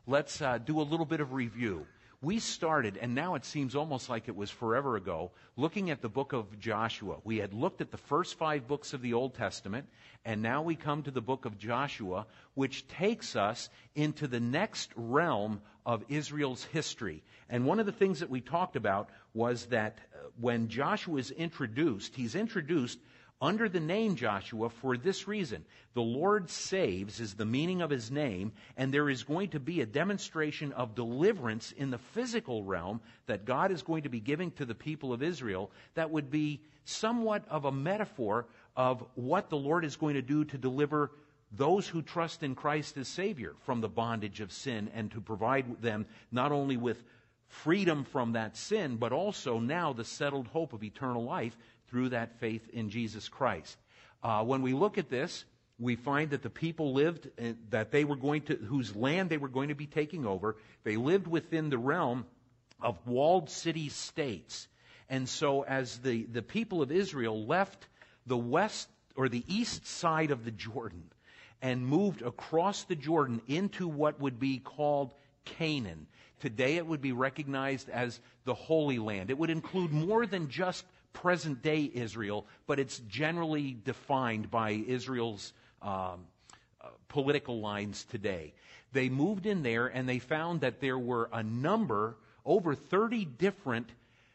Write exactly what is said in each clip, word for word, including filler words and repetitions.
let's uh, do a little bit of review. We started, and now it seems almost like it was forever ago, looking at the book of Joshua. We had looked at the first five books of the Old Testament, and now we come to the book of Joshua, which takes us into the next realm of Israel's history. And one of the things that we talked about was that uh, when Joshua is introduced, he's introduced under the name Joshua for this reason. The Lord saves is the meaning of his name, and there is going to be a demonstration of deliverance in the physical realm that God is going to be giving to the people of Israel that would be somewhat of a metaphor of what the Lord is going to do to deliver those who trust in Christ as Savior from the bondage of sin, and to provide them not only with freedom from that sin, but also now the settled hope of eternal life through that faith in Jesus Christ. Uh, when we look at this, we find that the people lived, uh, that they were going to, whose land they were going to be taking over, they lived within the realm of walled city states. And so as the, the people of Israel left the west or the east side of the Jordan and moved across the Jordan into what would be called Canaan, today it would be recognized as the Holy Land. It would include more than just present-day Israel, but it's generally defined by Israel's um, uh, political lines today. They moved in there, and they found that there were a number, over thirty different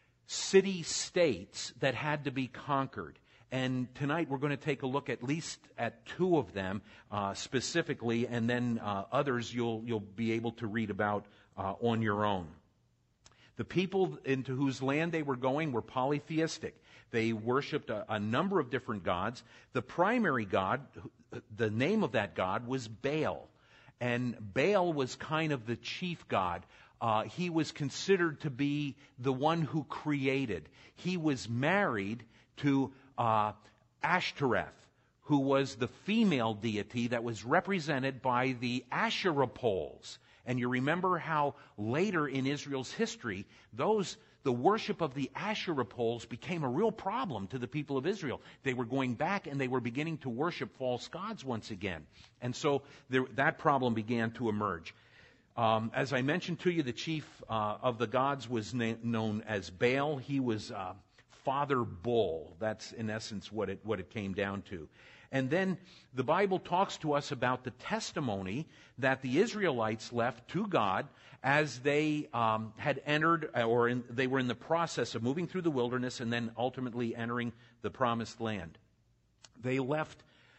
city-states that had to be conquered. And tonight we're going to take a look at least at two of them uh, specifically, and then uh, others you'll you'll be able to read about uh, on your own. The people into whose land they were going were polytheistic. They worshipped a, a number of different gods. The primary god, the name of that god was Baal. And Baal was kind of the chief god. Uh, he was considered to be the one who created. He was married to uh, Ashtoreth, who was the female deity that was represented by the Asherah poles. And you remember how later in Israel's history, those the worship of the Asherah poles became a real problem to the people of Israel. They were going back and they were beginning to worship false gods once again. And so there, that problem began to emerge. Um, as I mentioned to you, the chief uh, of the gods was na- known as Baal. He was uh, Father Bull. That's in essence what it what it came down to. And then the Bible talks to us about the testimony that the Israelites left to God as they um, had entered, or in, they were in the process of moving through the wilderness and then ultimately entering the promised land. They left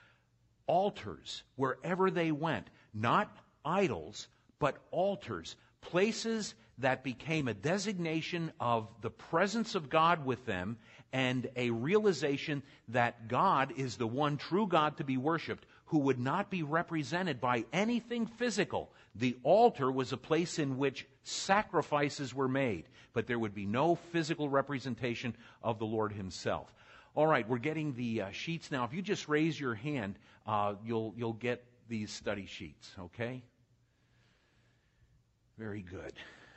altars wherever they went, not idols, but altars, places that became a designation of the presence of God with them and a realization that God is the one true God to be worshipped, who would not be represented by anything physical. The altar was a place in which sacrifices were made, but there would be no physical representation of the Lord himself. All right, we're getting the uh, sheets now. If you just raise your hand, uh, you'll you'll get these study sheets, okay? Very good.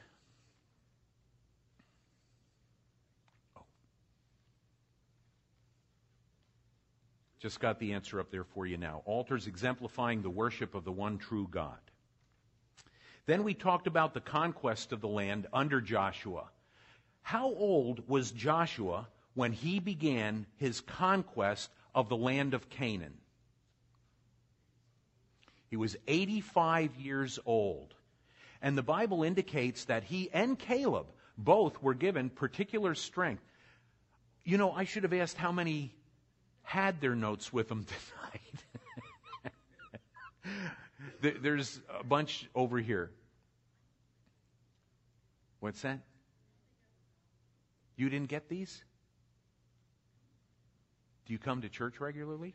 Oh. Just got the answer up there for you now. Altars exemplifying the worship of the one true God. Then we talked about the conquest of the land under Joshua. How old was Joshua when he began his conquest of the land of Canaan? He was eighty-five years old. And the Bible indicates that he and Caleb both were given particular strength. You know, I should have asked how many had their notes with them tonight. There's a bunch over here. What's that? You didn't get these? Do you come to church regularly?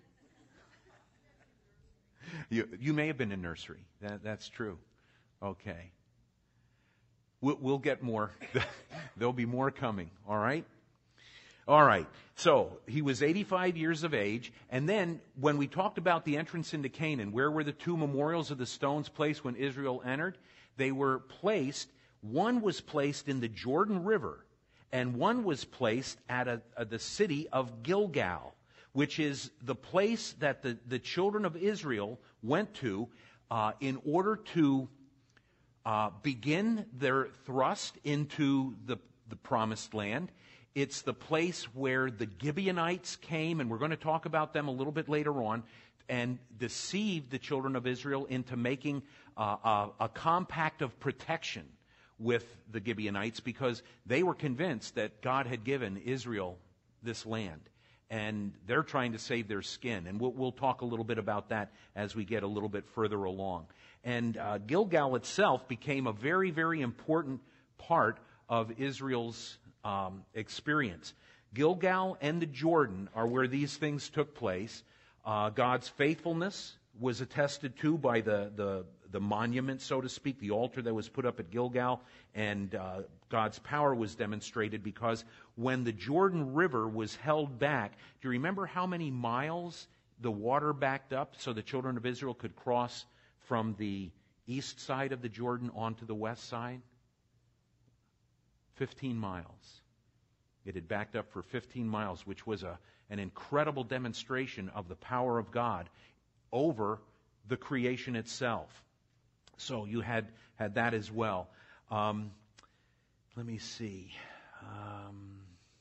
You, you may have been in nursery. That, that's true. Okay. We'll, we'll get more. There'll be more coming. All right? All right. So, he was eighty-five years of age. And then, when we talked about the entrance into Canaan, where were the two memorials of the stones placed when Israel entered? They were placed, one was placed in the Jordan River, and one was placed at a, a, the city of Gilgal, which is the place that the, the children of Israel went to uh, in order to uh, begin their thrust into the, the promised land. It's the place where the Gibeonites came, and we're going to talk about them a little bit later on, and deceived the children of Israel into making uh, a, a compact of protection with the Gibeonites because they were convinced that God had given Israel this land. And they're trying to save their skin. And we'll, we'll talk a little bit about that as we get a little bit further along. And uh, Gilgal itself became a very, very important part of Israel's um, experience. Gilgal and the Jordan are where these things took place. Uh, God's faithfulness was attested to by the, the, the monument, so to speak, the altar that was put up at Gilgal, and uh, God's power was demonstrated because when the Jordan River was held back, do you remember how many miles the water backed up so the children of Israel could cross from the east side of the Jordan onto the west side? fifteen miles. It had backed up for fifteen miles, which was a, an incredible demonstration of the power of God over the creation itself. So you had, had that as well. Um, let me see. Um,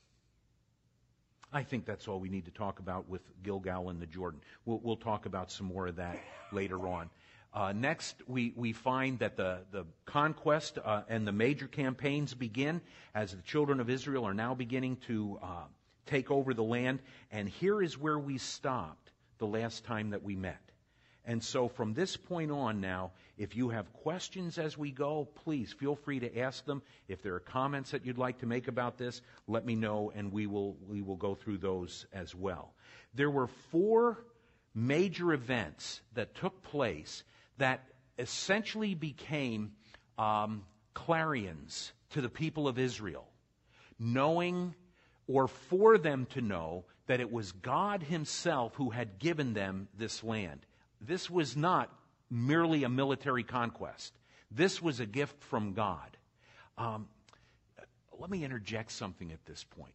I think that's all we need to talk about with Gilgal and the Jordan. We'll, we'll talk about some more of that later on. Uh, next, we, we find that the, the conquest uh, and the major campaigns begin as the children of Israel are now beginning to uh, take over the land. And here is where we stopped the last time that we met. And so from this point on now, if you have questions as we go, please feel free to ask them. If there are comments that you'd like to make about this, let me know, and we will we will go through those as well. There were four major events that took place that essentially became um, clarions to the people of Israel, knowing or for them to know that it was God Himself who had given them this land. This was not merely a military conquest. This was a gift from God. Um, let me interject something at this point.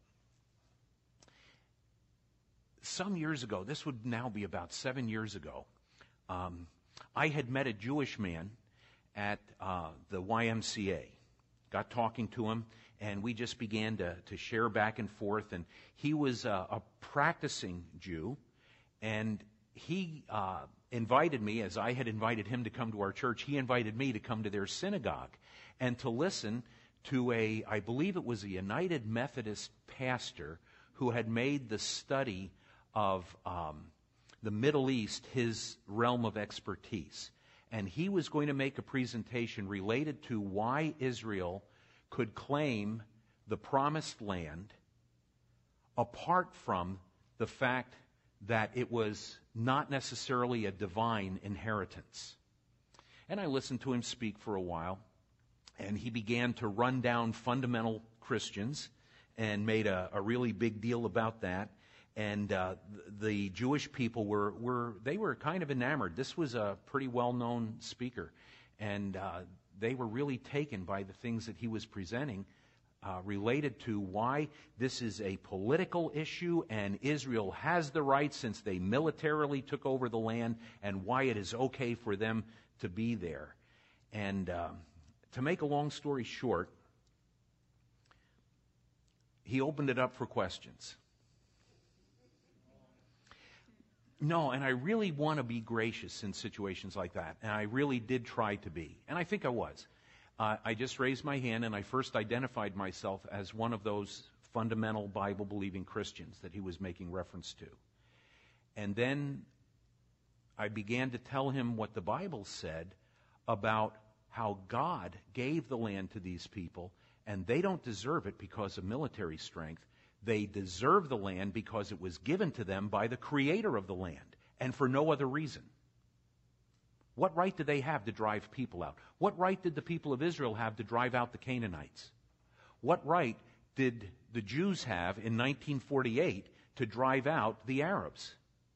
Some years ago, this would now be about seven years ago, um, I had met a Jewish man at uh, the Y M C A. Got talking to him, and we just began to, to share back and forth. And he was uh, a practicing Jew, and he uh, invited me, as I had invited him to come to our church, he invited me to come to their synagogue and to listen to a, I believe it was a United Methodist pastor who had made the study of um, the Middle East his realm of expertise. And he was going to make a presentation related to why Israel could claim the promised land apart from the fact that it was not necessarily a divine inheritance. And I listened to him speak for a while, and he began to run down fundamental Christians and made a, a really big deal about that. And uh, the Jewish people were, were, they were kind of enamored. This was a pretty well-known speaker, and uh, they were really taken by the things that he was presenting uh, related to why this is a political issue and Israel has the right since they militarily took over the land, and why it is okay for them to be there. And um, to make a long story short, he opened it up for questions. No, and I really want to be gracious in situations like that, and I really did try to be, and I think I was. Uh, I just raised my hand, and I first identified myself as one of those fundamental Bible-believing Christians that he was making reference to. And then I began to tell him what the Bible said about how God gave the land to these people, and they don't deserve it because of military strength. They deserve the land because it was given to them by the creator of the land, and for no other reason. What right did they have to drive people out? What right did the people of Israel have to drive out the Canaanites? What right did the Jews have in nineteen forty-eight to drive out the Arabs?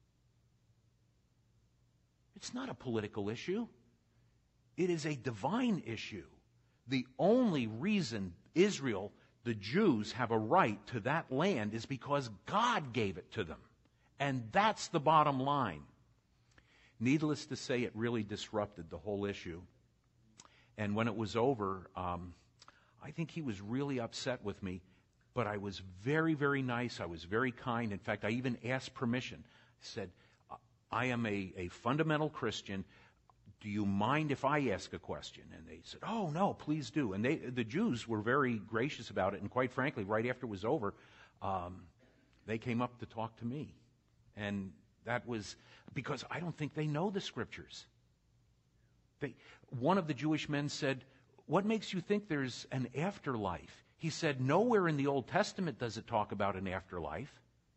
It's not a political issue. It is a divine issue. The only reason Israel, the Jews, have a right to that land is because God gave it to them. And that's the bottom line. Needless to say, it really disrupted the whole issue. And when it was over, um, I think he was really upset with me. But I was very, very nice. I was very kind. In fact, I even asked permission. I said, I am a, a fundamental Christian. Do you mind if I ask a question? And they said, oh, no, please do. And they, the Jews were very gracious about it. And quite frankly, right after it was over, um, they came up to talk to me. And that was because I don't think they know the Scriptures. They, one of the Jewish men said, what makes you think there's an afterlife? He said, nowhere in the Old Testament does it talk about an afterlife.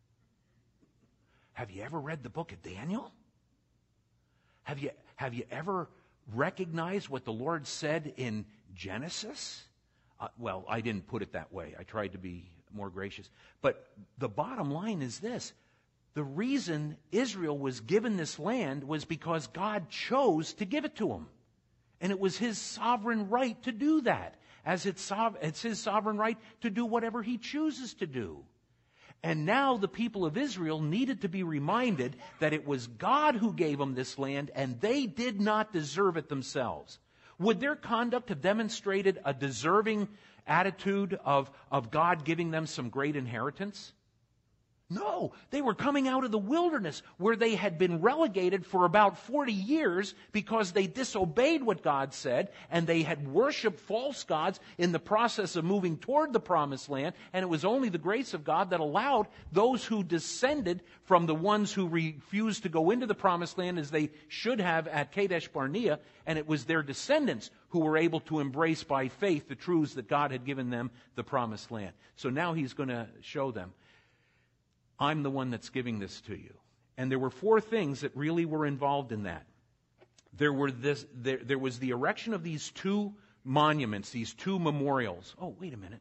Have you ever read the book of Daniel? Have you, have you ever recognized what the Lord said in Genesis? Uh, well, I didn't put it that way. I tried to be more gracious. But the bottom line is this. The reason Israel was given this land was because God chose to give it to them. And it was His sovereign right to do that. As it's, it's His sovereign right to do whatever He chooses to do. And now the people of Israel needed to be reminded that it was God who gave them this land and they did not deserve it themselves. Would their conduct have demonstrated a deserving attitude of, of God giving them some great inheritance? No, they were coming out of the wilderness where they had been relegated for about forty years because they disobeyed what God said and they had worshiped false gods in the process of moving toward the promised land. And it was only the grace of God that allowed those who descended from the ones who refused to go into the promised land as they should have at Kadesh Barnea. And it was their descendants who were able to embrace by faith the truths that God had given them, the promised land. So now He's going to show them. I'm the one that's giving this to you. And there were four things that really were involved in that. There were this, there, there was the erection of these two monuments, these two memorials. Oh, wait a minute.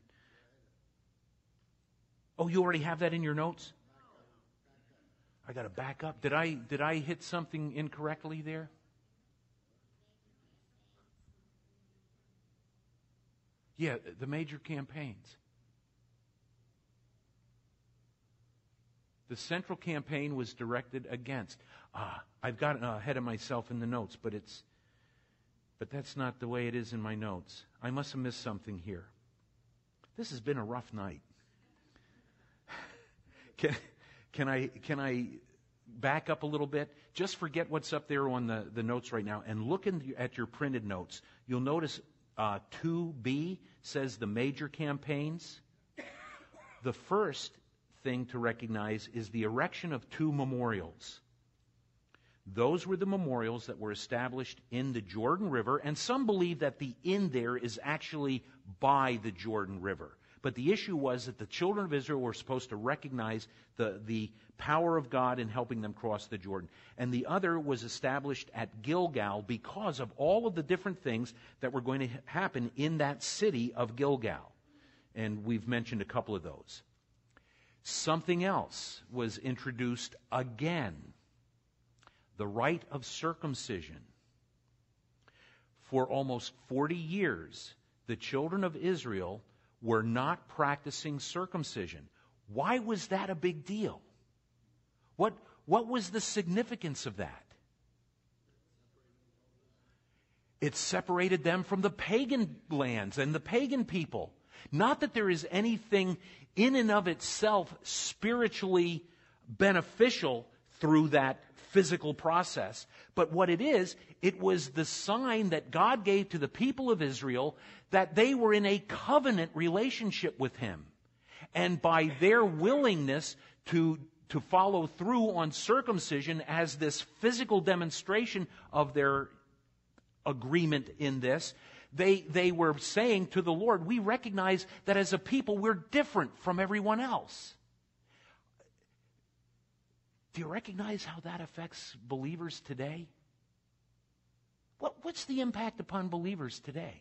Oh, you already have that in your notes? I got to back up. Did I, did I hit something incorrectly there? Yeah, the major campaigns. The central campaign was directed against. Ah, I've gotten ahead of myself in the notes, but it's, but that's not the way it is in my notes. I must have missed something here. This has been a rough night. Can, can I, can I back up a little bit? Just forget what's up there on the, the notes right now and look in the, at your printed notes. You'll notice uh, two B says the major campaigns. The first thing to recognize is the erection of two memorials. Those were the memorials that were established in the Jordan River, and some believe that the "in" there is actually by the Jordan River. But the issue was that the children of Israel were supposed to recognize the, the power of God in helping them cross the Jordan. And the other was established at Gilgal because of all of the different things that were going to happen in that city of Gilgal. And we've mentioned a couple of those. Something else was introduced again. The rite of circumcision. For almost forty years, the children of Israel were not practicing circumcision. Why was that a big deal? What, what was the significance of that? It separated them from the pagan lands and the pagan people. Not that there is anything in and of itself spiritually beneficial through that physical process. But what it is, it was the sign that God gave to the people of Israel that they were in a covenant relationship with Him. And by their willingness to, to follow through on circumcision as this physical demonstration of their agreement in this, They, they were saying to the Lord, we recognize that as a people we're different from everyone else. Do you recognize how that affects believers today? What, what's the impact upon believers today?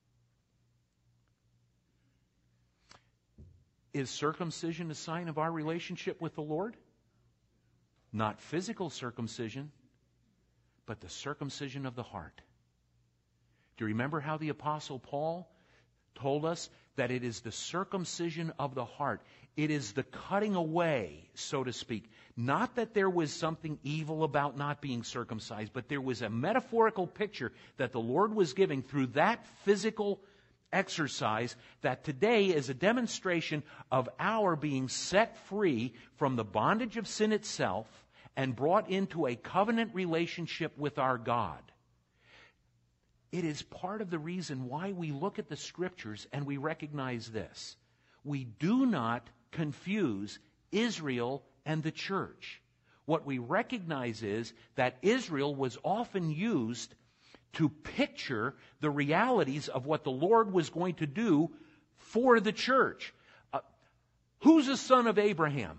Is circumcision a sign of our relationship with the Lord? Not physical circumcision, but the circumcision of the heart. Do you remember how the Apostle Paul told us that it is the circumcision of the heart. It is the cutting away, so to speak. Not that there was something evil about not being circumcised, but there was a metaphorical picture that the Lord was giving through that physical exercise that today is a demonstration of our being set free from the bondage of sin itself and brought into a covenant relationship with our God. It is part of the reason why we look at the Scriptures and we recognize this. We do not confuse Israel and the church. What we recognize is that Israel was often used to picture the realities of what the Lord was going to do for the church. Uh, who's a son of Abraham?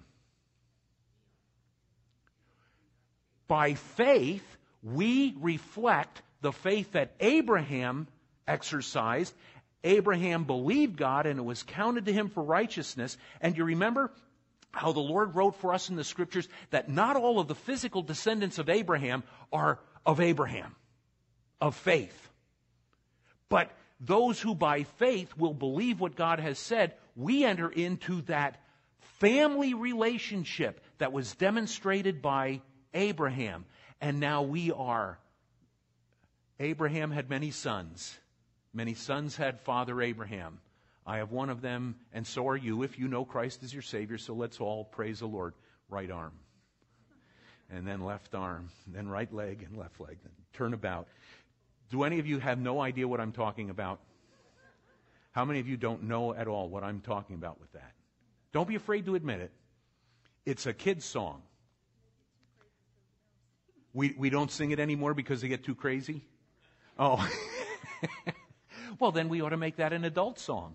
By faith, we reflect the faith that Abraham exercised. Abraham believed God, and it was counted to him for righteousness. And you remember how the Lord wrote for us in the Scriptures that not all of the physical descendants of Abraham are of Abraham, of faith. But those who by faith will believe what God has said, we enter into that family relationship that was demonstrated by Abraham. And now we are. Abraham had many sons. Many sons had Father Abraham. I have one of them, and so are you, if you know Christ as your Savior. So let's all praise the Lord. Right arm. And then left arm. Then right leg and left leg. Then turn about. Do any of you have no idea what I'm talking about? How many of you don't know at all what I'm talking about with that? Don't be afraid to admit it. It's a kid's song. We we don't sing it anymore because they get too crazy? Oh. Well, then we ought to make that an adult song.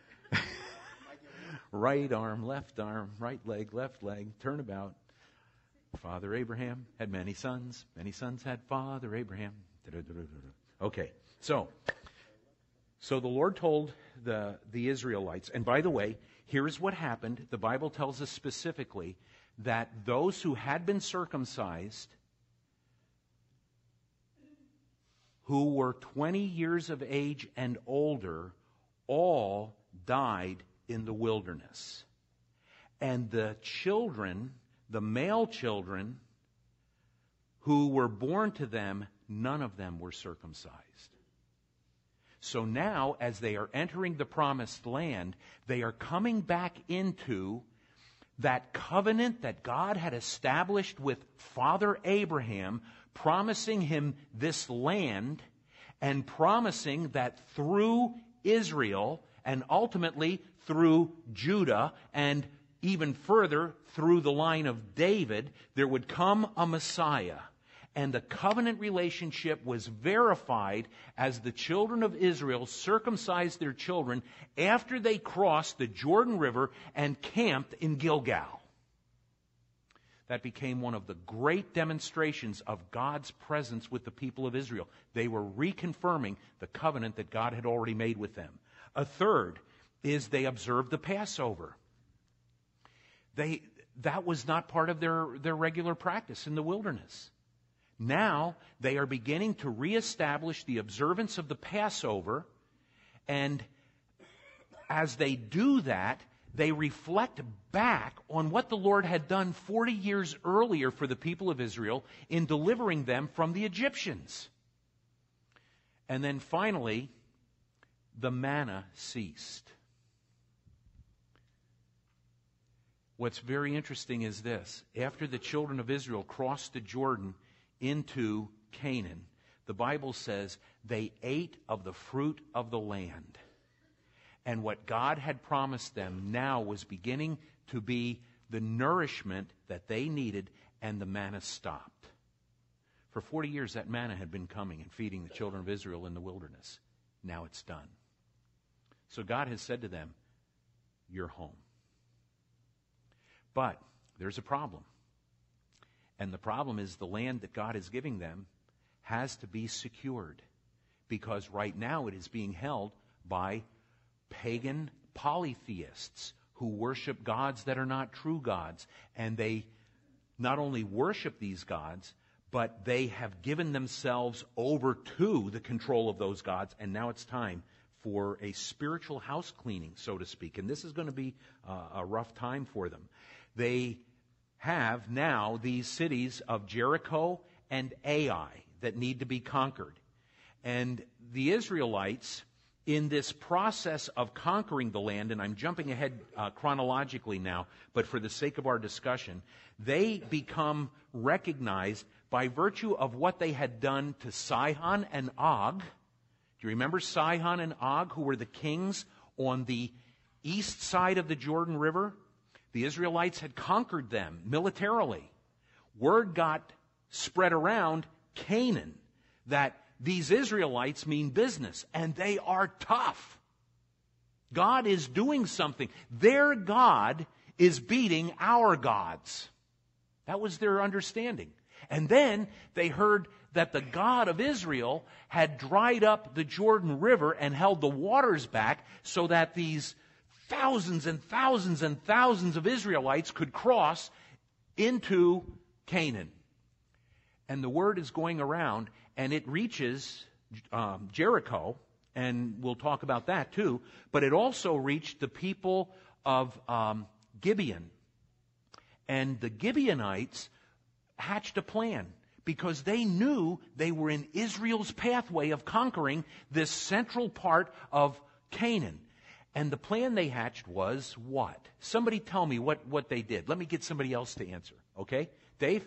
Right arm, left arm, right leg, left leg, turn about. Father Abraham had many sons. Many sons had Father Abraham. Okay, so so the Lord told the, the Israelites, and by the way, here's what happened. The Bible tells us specifically that those who had been circumcised, who were twenty years of age and older, all died in the wilderness. And the children, the male children who were born to them, none of them were circumcised. So now, as they are entering the promised land, they are coming back into that covenant that God had established with Father Abraham, promising him this land and promising that through Israel and ultimately through Judah and even further through the line of David, there would come a Messiah. And the covenant relationship was verified as the children of Israel circumcised their children after they crossed the Jordan River and camped in Gilgal. That became one of the great demonstrations of God's presence with the people of Israel. They were reconfirming the covenant that God had already made with them. A third is they observed the Passover. They, that was not part of their, their regular practice in the wilderness. Now they are beginning to reestablish the observance of the Passover, and as they do that, they reflect back on what the Lord had done forty years earlier for the people of Israel in delivering them from the Egyptians. And then finally, the manna ceased. What's very interesting is this. After the children of Israel crossed the Jordan into Canaan, the Bible says they ate of the fruit of the land. And what God had promised them now was beginning to be the nourishment that they needed, and the manna stopped. For forty years, that manna had been coming and feeding the children of Israel in the wilderness. Now it's done. So God has said to them, you're home. But there's a problem. And the problem is the land that God is giving them has to be secured. Because right now it is being held by pagan polytheists who worship gods that are not true gods. And they not only worship these gods, but they have given themselves over to the control of those gods. And now it's time for a spiritual house cleaning, so to speak. And this is going to be uh, a rough time for them. They have now these cities of Jericho and Ai that need to be conquered. And the Israelites, in this process of conquering the land, and I'm jumping ahead uh, chronologically now, but for the sake of our discussion, they become recognized by virtue of what they had done to Sihon and Og. Do you remember Sihon and Og, who were the kings on the east side of the Jordan River? The Israelites had conquered them militarily. Word got spread around Canaan that these Israelites mean business, and they are tough. God is doing something. Their God is beating our gods. That was their understanding. And then they heard that the God of Israel had dried up the Jordan River and held the waters back so that these thousands and thousands and thousands of Israelites could cross into Canaan. And the word is going around, and it reaches um, Jericho, and we'll talk about that too, but it also reached the people of um, Gibeon. And the Gibeonites hatched a plan because they knew they were in Israel's pathway of conquering this central part of Canaan. And the plan they hatched was what? Somebody tell me what, what they did. Let me get somebody else to answer. Okay? Dave?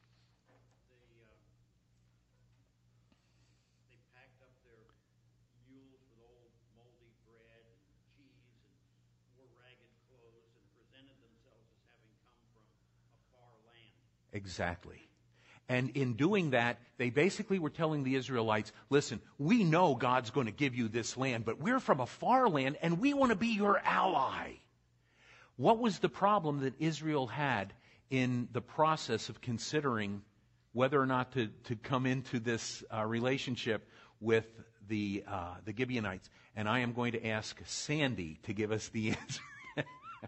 Exactly. And in doing that, they basically were telling the Israelites, listen, we know God's going to give you this land, but we're from a far land, and we want to be your ally. What was the problem that Israel had in the process of considering whether or not to, to come into this uh, relationship with the, uh, the Gibeonites? And I am going to ask Sandy to give us the answer.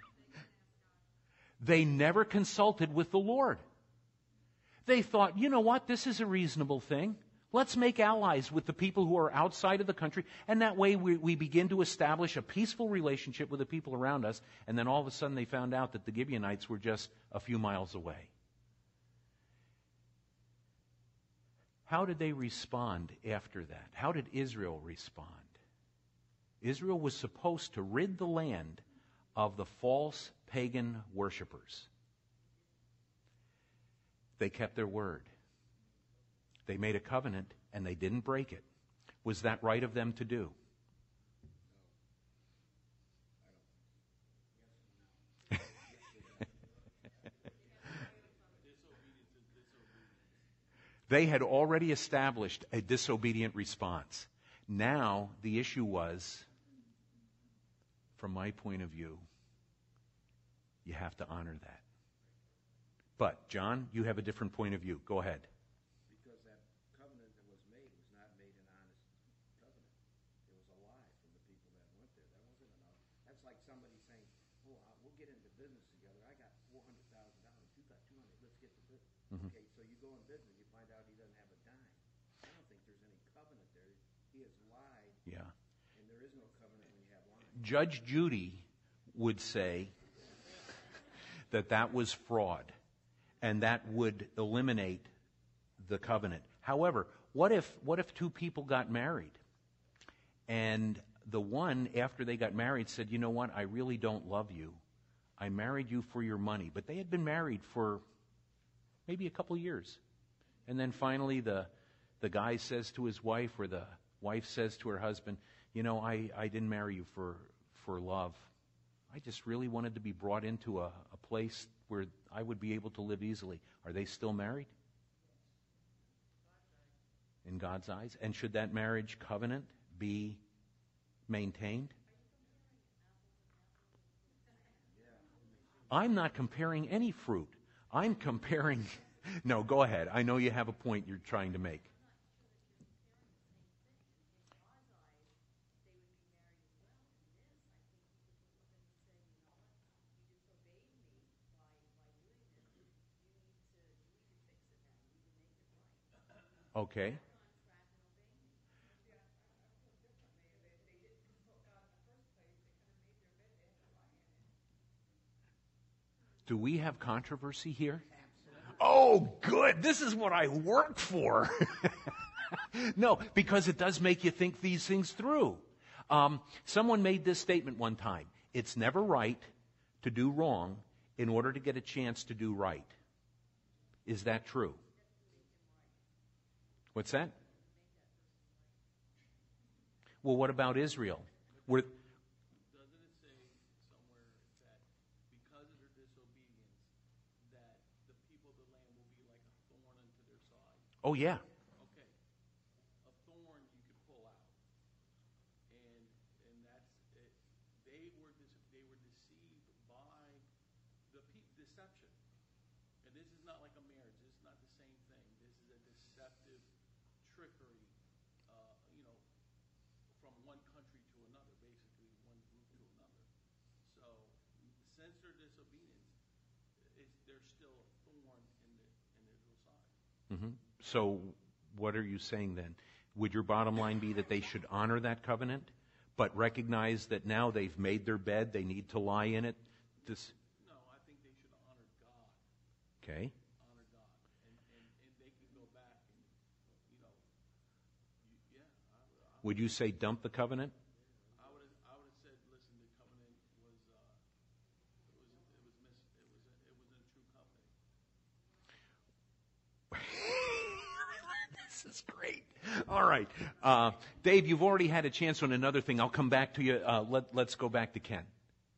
They never consulted with the Lord. They thought, you know what, this is a reasonable thing. Let's make allies with the people who are outside of the country, and that way we, we begin to establish a peaceful relationship with the people around us, and then all of a sudden they found out that the Gibeonites were just a few miles away. How did they respond after that? How did Israel respond? Israel was supposed to rid the land of the false pagan worshipers. They kept their word. They made a covenant, and they didn't break it. Was that right of them to do? They had already established a disobedient response. Now, the issue was, from my point of view, you have to honor that. But, John, you have a different point of view. Go ahead. Because that covenant that was made was not made an honest covenant. It was a lie from the people that went there. That wasn't enough. That's like somebody saying, oh, we'll get into business together. I got four hundred thousand dollars. You got two hundred dollars. Let's get to business. Mm-hmm. Okay, so you go in business. You find out he doesn't have a dime. I don't think there's any covenant there. He has lied. Yeah. And there is no covenant when you have lying. Judge Judy would say that that was fraud. And that would eliminate the covenant. However, what if what if two people got married? And the one, after they got married, said, you know what, I really don't love you. I married you for your money. But they had been married for maybe a couple years. And then finally the the guy says to his wife, or the wife says to her husband, you know, I, I didn't marry you for, for love. I just really wanted to be brought into a, a place where I would be able to live easily. Are they still married? In God's eyes? And should that marriage covenant be maintained? I'm not comparing any fruit. I'm comparing... No, go ahead. I know you have a point you're trying to make. Okay. Do we have controversy here? Oh, good. This is what I work for. No, because it does make you think these things through. Um, someone made this statement one time. It's never right to do wrong in order to get a chance to do right. Is that true? What's that? Well, what about Israel? Were, Doesn't it say somewhere that because of their disobedience, that the people of the land will be like a thorn unto their side? oh, yeah. Okay, a thorn you could pull out, and and that's it. They were dis- they were deceived by the pe- deception, and this is not like a marriage. This is not the same thing. This is a deceptive trickery. Uh, you know. From one country to another, basically one group to another. So, since their disobedience, it's, there's still a thorn in the in Israel's side. Mm-hmm. So, what are you saying then? Would your bottom line be that they should honor that covenant, but recognize that now they've made their bed, they need to lie in it? This. No, I think they should honor God. Okay. Honor God, and and, and they can go back and you know, you, yeah. I, I, Would you say dump the covenant? I would have, I would have said, listen, the covenant was, uh, it was, it was mis, it was, a, it wasn't a true covenant. This is great. All right. Uh, Dave, you've already had a chance on another thing. I'll come back to you. Uh, let, let's go back to Ken.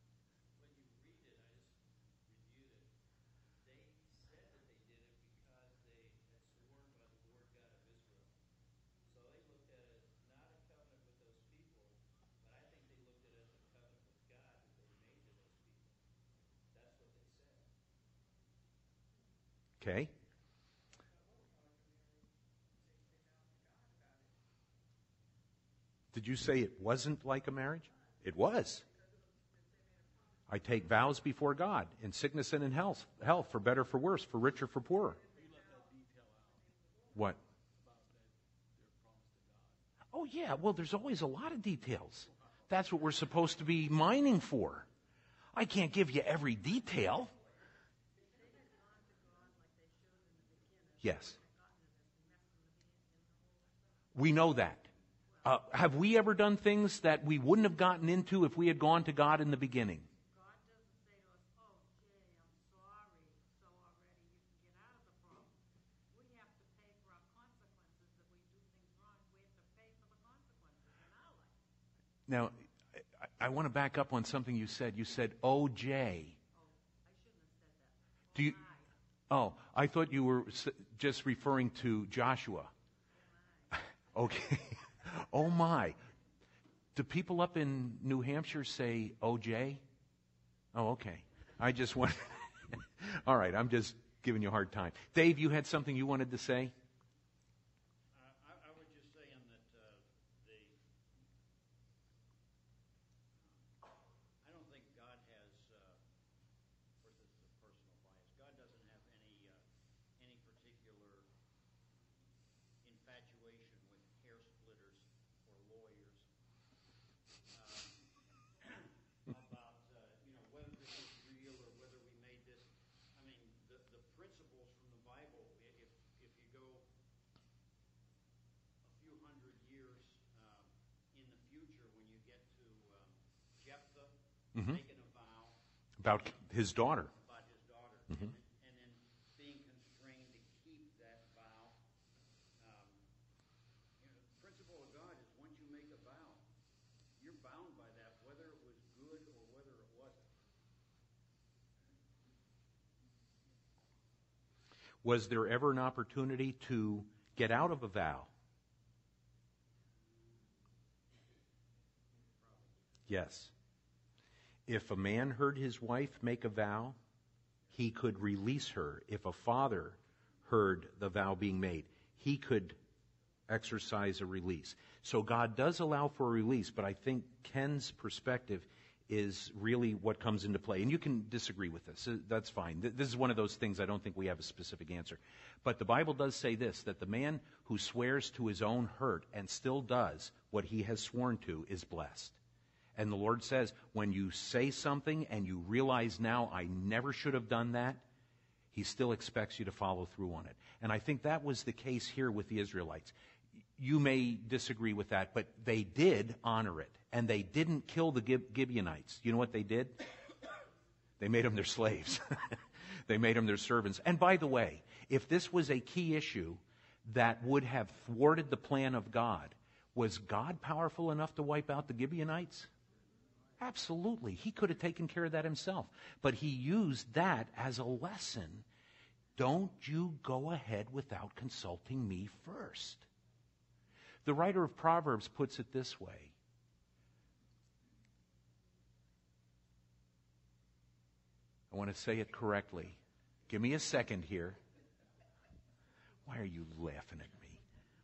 Okay. Did you say it wasn't like a marriage? It was. I take vows before God in sickness and in health, health for better, for worse, for richer, for poorer. What? Oh, yeah. Well, there's always a lot of details. That's what we're supposed to be mining for. I can't give you every detail. Yes. We know that. Uh, have we ever done things that we wouldn't have gotten into if we had gone to God in the beginning? God doesn't say to us, oh, Jay, I'm sorry, so already you can get out of the problem. We have to pay for our consequences. If we do things wrong, we have to pay for the consequences in our life. Now, I, I want to back up on something you said. You said, oh, Jay. Oh, I shouldn't have said that. Oh, Do you, oh, I thought you were just referring to Joshua. oh Okay. Oh, my. Do people up in New Hampshire say O J? Oh, okay. I just want... All right, I'm just giving you a hard time. Dave, you had something you wanted to say? Uh, I, I was just saying that uh, the... I don't think God has... Uh, of course, this is a personal bias. God doesn't have any uh, any particular infatuation with hair splitters or lawyers um, about uh, you know whether this is real or whether we made this. I mean, the, the principles from the Bible. If if you go a few hundred years um, in the future, when you get to um, Jephthah Mhm. making a vow About his daughter. about his daughter, Mhm. and, and then being constrained to keep that vow. Um, you know, the principle of God is once you make a vow, you're bound by that, whether it was good or whether it wasn't. Was there ever an opportunity to get out of a vow? Yes. If a man heard his wife make a vow, he could release her. If a father heard the vow being made, he could exercise a release. So God does allow for a release, but I think Ken's perspective is really what comes into play. And you can disagree with this. That's fine. This is one of those things I don't think we have a specific answer. But the Bible does say this, that the man who swears to his own hurt and still does what he has sworn to is blessed. And the Lord says, when you say something and you realize now, I never should have done that, He still expects you to follow through on it. And I think that was the case here with the Israelites. You may disagree with that, but they did honor it. And they didn't kill the Gib- Gibeonites. You know what they did? They made them their slaves. They made them their servants. And by the way, if this was a key issue that would have thwarted the plan of God, was God powerful enough to wipe out the Gibeonites? Absolutely. He could have taken care of that himself. But He used that as a lesson. Don't you go ahead without consulting me first. The writer of Proverbs puts it this way. I want to say it correctly. Give me a second here. Why are you laughing at me?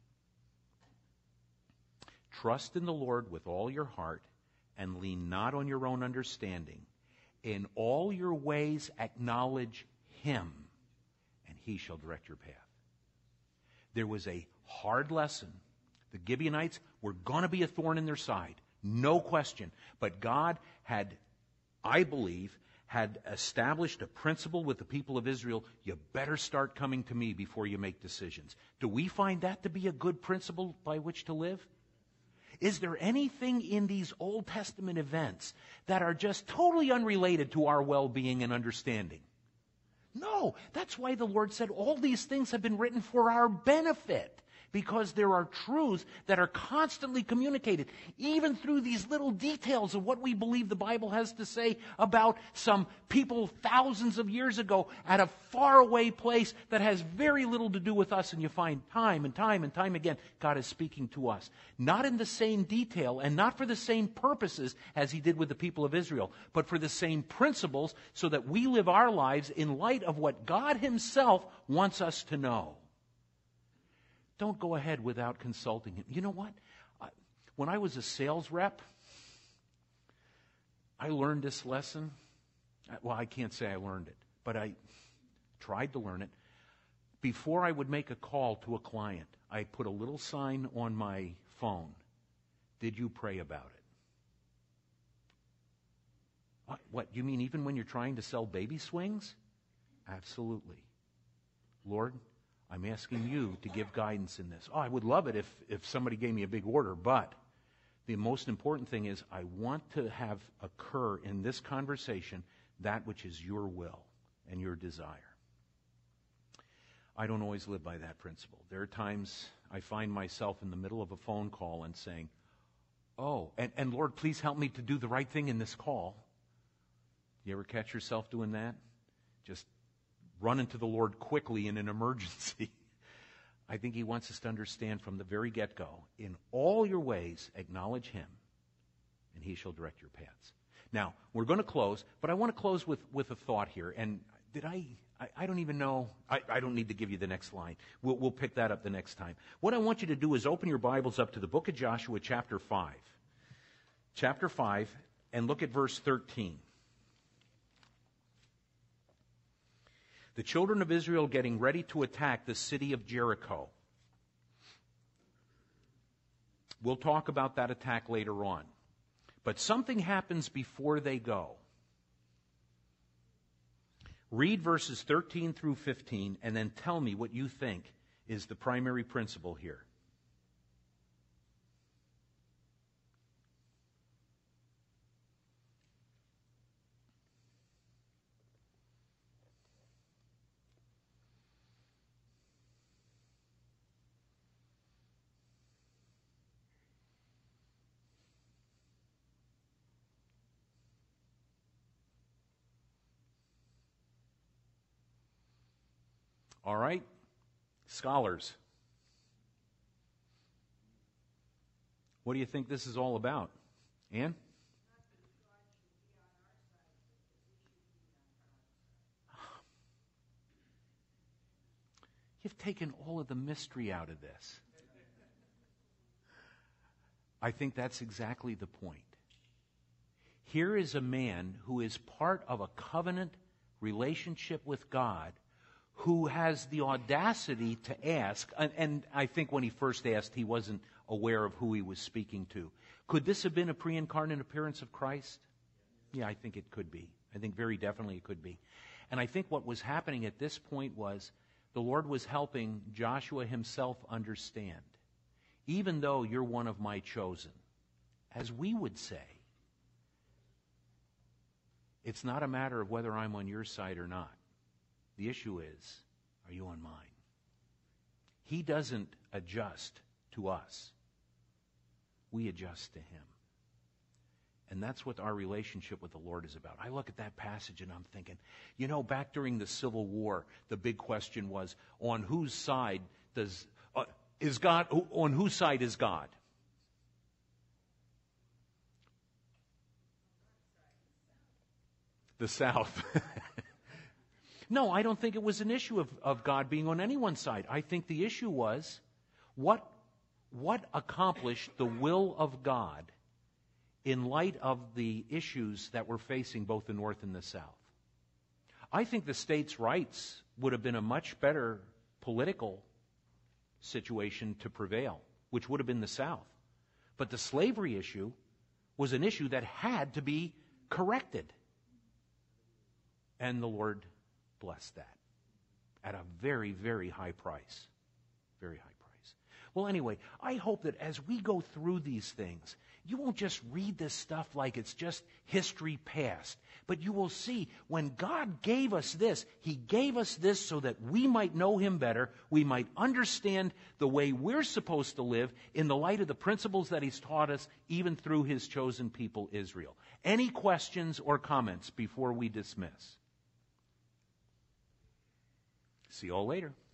Trust in the Lord with all your heart and lean not on your own understanding. In all your ways acknowledge Him, and He shall direct your path. There was a hard lesson. The Gibeonites were going to be a thorn in their side, no question. But God had, I believe, had established a principle with the people of Israel. You better start coming to me before you make decisions. Do we find that to be a good principle by which to live? Is there anything in these Old Testament events that are just totally unrelated to our well-being and understanding? No. That's why the Lord said all these things have been written for our benefit. Because there are truths that are constantly communicated, even through these little details of what we believe the Bible has to say about some people thousands of years ago at a faraway place that has very little to do with us. And you find time and time and time again, God is speaking to us. Not in the same detail and not for the same purposes as He did with the people of Israel, but for the same principles so that we live our lives in light of what God Himself wants us to know. Don't go ahead without consulting Him. You know what? I, when I was a sales rep, I learned this lesson. Well, I can't say I learned it, but I tried to learn it. Before I would make a call to a client, I put a little sign on my phone. Did you pray about it? What, what, you mean even when you're trying to sell baby swings? Absolutely. Lord, I'm asking you to give guidance in this. Oh, I would love it if, if somebody gave me a big order, but the most important thing is I want to have occur in this conversation that which is your will and your desire. I don't always live by that principle. There are times I find myself in the middle of a phone call and saying, oh, and, and Lord, please help me to do the right thing in this call. You ever catch yourself doing that? Just run into the Lord quickly in an emergency. I think He wants us to understand from the very get-go, in all your ways, acknowledge Him, and He shall direct your paths. Now, we're going to close, but I want to close with, with a thought here. And did I, I, I don't even know, I, I don't need to give you the next line. We'll, we'll pick that up the next time. What I want you to do is open your Bibles up to the book of Joshua, chapter five. Chapter five, and look at verse thirteen. The children of Israel getting ready to attack the city of Jericho. We'll talk about that attack later on. But something happens before they go. Read verses thirteen through fifteen and then tell me what you think is the primary principle here. All right, scholars, what do you think this is all about? Ann? You've taken all of the mystery out of this. I think that's exactly the point. Here is a man who is part of a covenant relationship with God, who has the audacity to ask, and, and I think when he first asked, he wasn't aware of who he was speaking to. Could this have been a pre-incarnate appearance of Christ? Yeah, I think it could be. I think very definitely it could be. And I think what was happening at this point was the Lord was helping Joshua himself understand, even though you're one of my chosen, as we would say, it's not a matter of whether I'm on your side or not. The issue is, are you on mine? He doesn't adjust to us. We adjust to him. And that's what our relationship with the Lord is about. I look at that passage and I'm thinking, you know, back during the Civil War, the big question was, on whose side does uh, is God? On whose side is God? The South. No, I don't think it was an issue of, of God being on anyone's side. I think the issue was what what accomplished the will of God in light of the issues that were facing both the North and the South. I think the states' rights would have been a much better political situation to prevail, which would have been the South. But the slavery issue was an issue that had to be corrected. And the Lord blessed that at a very, very high price. Very high price. Well, anyway, I hope that as we go through these things, you won't just read this stuff like it's just history past, but you will see when God gave us this, He gave us this so that we might know Him better, we might understand the way we're supposed to live in the light of the principles that He's taught us, even through His chosen people, Israel. Any questions or comments before we dismiss? See you all later.